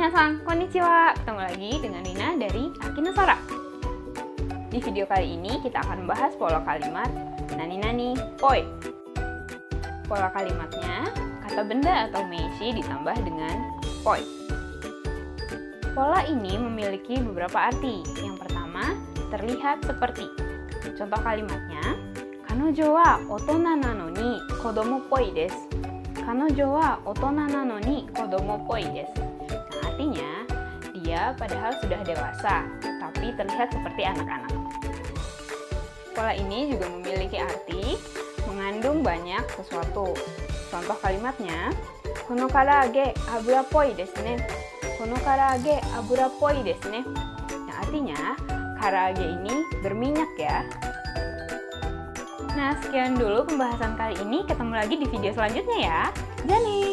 Minasan, konnichiwa. Ketemu lagi dengan Rina dari Akinosora. Di video kali ini kita akan membahas pola kalimat nani-nani poi. Pola kalimatnya, kata benda atau meiji ditambah dengan poi. Pola ini memiliki beberapa arti. Yang pertama, terlihat seperti. Contoh kalimatnya, kanojo wa otona nano ni kodomo poi desu. Kanojo wa otona nano ni kodomo poi desu. Artinya, dia padahal sudah dewasa, tapi terlihat seperti anak-anak. Pola ini juga memiliki arti mengandung banyak sesuatu. Contoh kalimatnya, kono karaage abura poi desu ne. Kono karaage abura poi desu ne. Yang artinya, karaage ini berminyak ya. Nah, sekian dulu pembahasan kali ini. Ketemu lagi di video selanjutnya ya. Jani!